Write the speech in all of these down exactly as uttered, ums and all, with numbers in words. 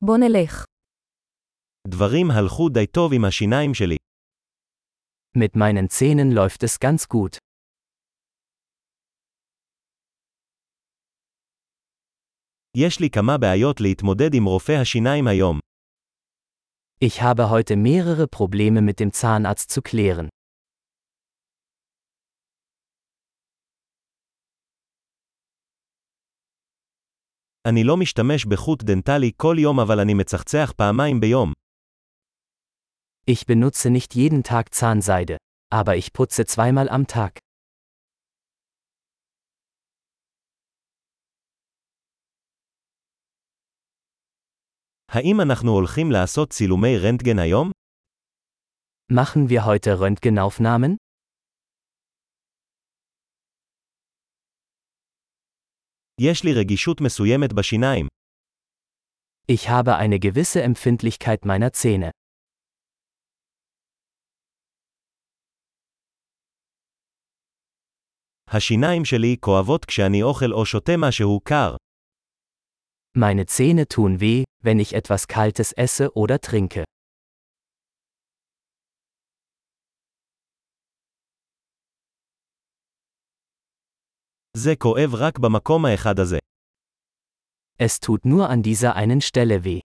בוא נלך. דברים הלכו די טוב עם השיניים שלי. Mit meinen Zähnen läuft es ganz gut. יש לי כמה בעיות להתמודד עם רופא השיניים היום. Ich habe heute mehrere Probleme mit dem Zahnarzt zu klären. אני לא משתמש בחוט דנטלי כל יום אבל אני מצחצח פעמיים ביום. Ich benutze nicht jeden Tag Zahnseide, aber ich putze zweimal am Tag. האם אנחנו הולכים לעשות צילומי רנטגן היום? Machen wir heute Röntgenaufnahmen? יש לי רגישות מסוימת בשיניים. Ich habe eine gewisse Empfindlichkeit meiner Zähne. השיניים שלי כואבות כשאני אוכל או שותה משהו קר. Meine Zähne tun weh, wenn ich etwas Kaltes esse oder trinke. זה כואב רק במקום האחד הזה. Es tut nur an dieser einen Stelle weh.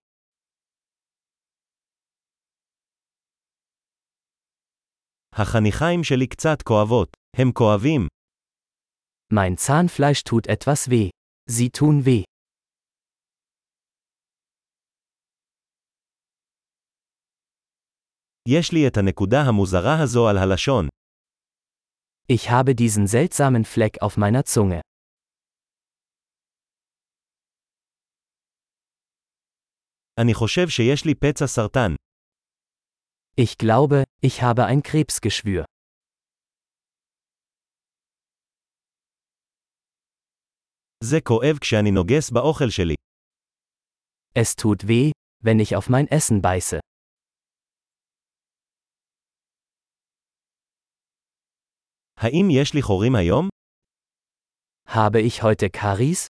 החניכיים שלי קצת כואבות. הם כואבים. Mein Zahnfleisch tut etwas weh. Sie tun weh. יש לי את הנקודה המוזרה הזו על הלשון. Ich habe diesen seltsamen Fleck auf meiner Zunge. אני חושב שיש לי פצע סרטן. Ich glaube, ich habe ein Krebsgeschwür. זה כואב כשאני נוגס באוכל שלי. Es tut weh, wenn ich auf mein Essen beiße. האם יש לי חורים היום? Habe ich heute Karies?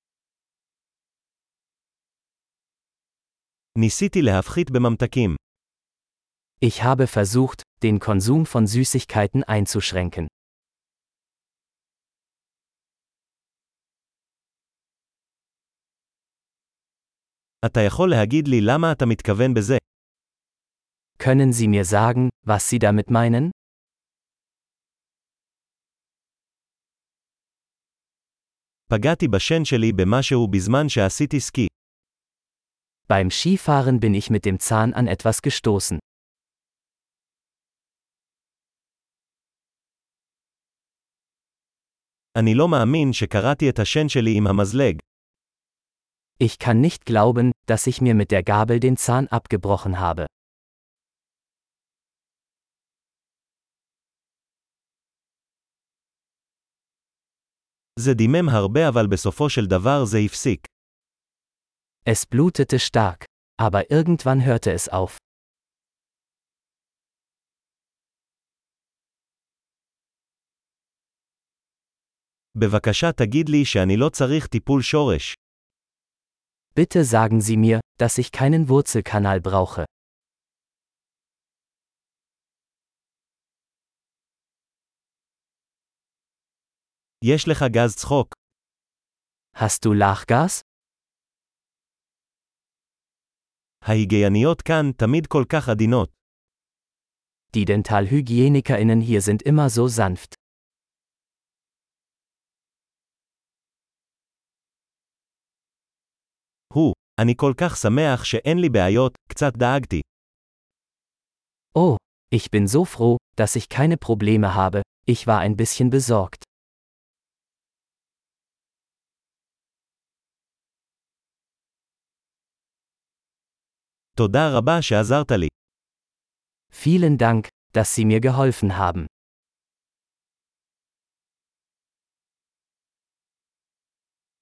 ניסיתי להפחית בממתקים. Ich habe versucht, den Konsum von Süßigkeiten einzuschränken. אתה יכול להגיד לי למה אתה מתכוון בזה? Können Sie mir sagen, was Sie damit meinen? פגעתי בשן שלי במשהו בזמן שעשיתי סקי. Beim Skifahren bin ich mit dem Zahn an etwas gestoßen. אני לא מאמין שקראתי את השן שלי עם המזלג. Ich kann nicht glauben, dass ich mir mit der Gabel den Zahn abgebrochen habe. זה דימם הרבה אבל בסופו של דבר זה הפסיק. Es blutete stark, aber irgendwann hörte es auf. בבקשה תגיד לי שאני לא צריך טיפול שורש. Bitte sagen Sie mir, dass ich keinen Wurzelkanal brauche. יש לך גז צחוק. Hast du Lachgas? ההיגייניות כאן תמיד כל כך עדינות. Die Dentalhygienikerinnen hier sind immer so sanft. הוא, אני כל כך שמח שאין לי בעיות, קצת דאגתי. Oh, ich bin so froh, dass ich keine Probleme habe, ich war ein bisschen besorgt. תודה רבה שעזרת לי. Vielen Dank, dass Sie mir geholfen haben.